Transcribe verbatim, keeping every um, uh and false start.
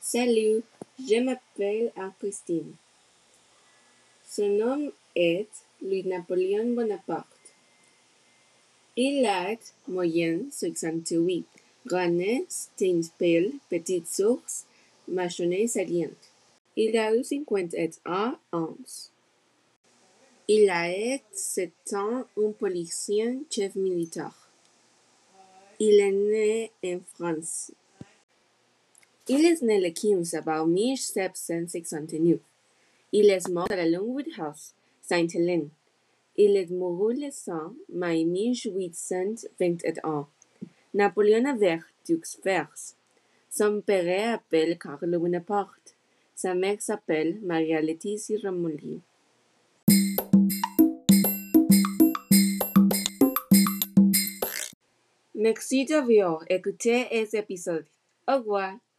Salut, je m'appelle Christine. Son nom est Louis-Napoléon Bonaparte. Il a moyenne soixante-huit, granit, steinpile, petite source, mâchonnée saliente. Il a eu cinquante-un ans. Il a été sept ans un policier chef militaire. Il est né en France. Il est né le quinze avril mille sept cent soixante-neuf. Il est mort à la Longwood House, Saint-Hélène. Il est mort le cinq mai mille huit cent vingt et un. Napoléon avait deux frères. Son père s'appelle Carlo Bonaparte. Sa mère s'appelle Maria Laetitia Ramolli. Merci d'avoir écouté cet épisode. Au revoir.